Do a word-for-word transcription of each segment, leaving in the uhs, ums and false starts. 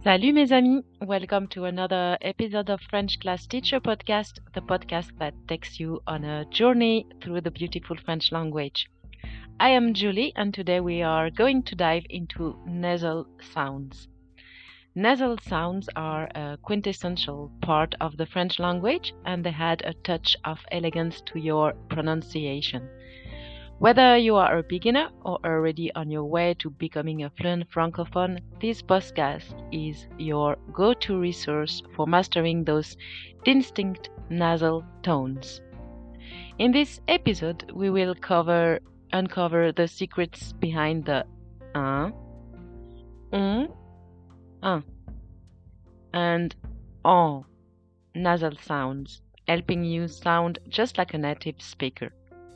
Salut mes amis, welcome to another episode of French Class Teacher Podcast, the podcast that takes you on a journey through the beautiful French language. I am Julie and today we are going to dive into nasal sounds. Nasal sounds are a quintessential part of the French language and they add a touch of elegance to your pronunciation. Whether you are a beginner or already on your way to becoming a fluent francophone, this podcast is your go-to resource for mastering those distinct nasal tones. In this episode, we will cover uncover the secrets behind the un, un, un, and on nasal sounds, helping you sound just like a native speaker.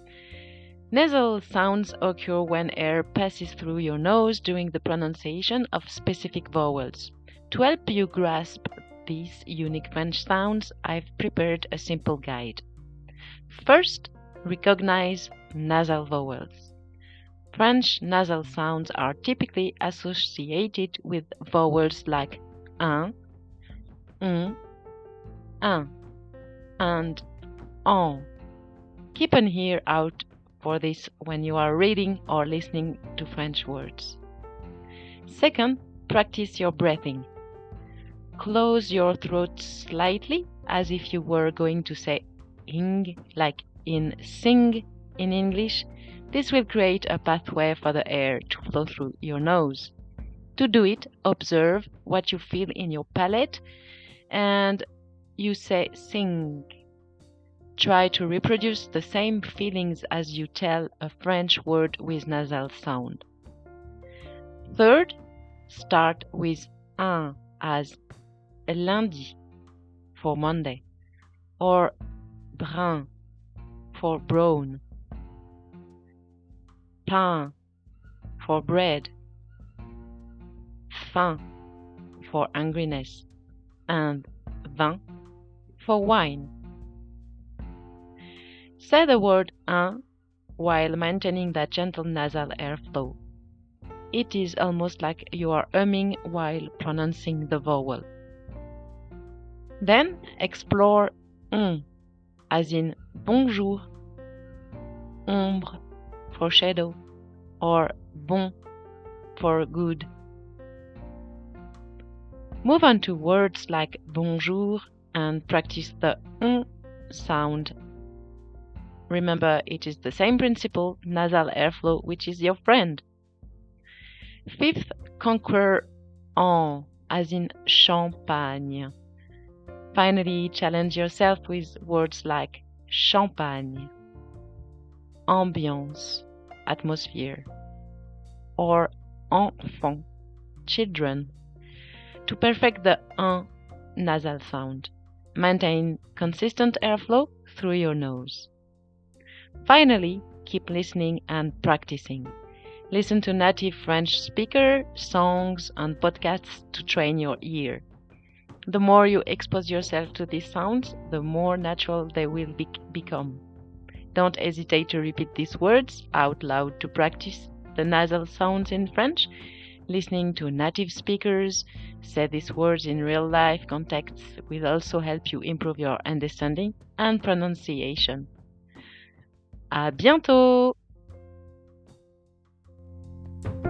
Nasal sounds occur when air passes through your nose during the pronunciation of specific vowels. To help you grasp these unique French sounds, I've prepared a simple guide. First, recognize nasal vowels. French nasal sounds are typically associated with vowels like un, un, un, and on. Keep an ear out for this when you are reading or listening to French words. Second, practice your breathing. Close your throat slightly as if you were going to say ing, like in sing in English. This will create a pathway for the air to flow through your nose. To do it, observe what you feel in your palate and you say sing. Try to reproduce the same feelings as you tell a French word with nasal sound. Third, start with un as lundi for Monday or brun for brown, pain for bread, faim for angriness, and vin for wine. Say the word un while maintaining that gentle nasal airflow. It is almost like you are humming while pronouncing the vowel. Then explore un, as in bonjour, ombre for shadow, or bon for good. Move on to words like bonjour and practice the un sound. Remember, it is the same principle, nasal airflow, which is your friend. Fifth, conquer en, as in champagne. Finally, challenge yourself with words like champagne, ambiance, atmosphere, or enfant, children, to perfect the un nasal sound. Maintain consistent airflow through your nose. Finally, keep listening and practicing. Listen to native French speakers, songs, and podcasts to train your ear. The more you expose yourself to these sounds, the more natural they will be- become. Don't hesitate to repeat these words out loud to practice the nasal sounds in French. Listening to native speakers say these words in real life contexts will also help you improve your understanding and pronunciation. À bientôt!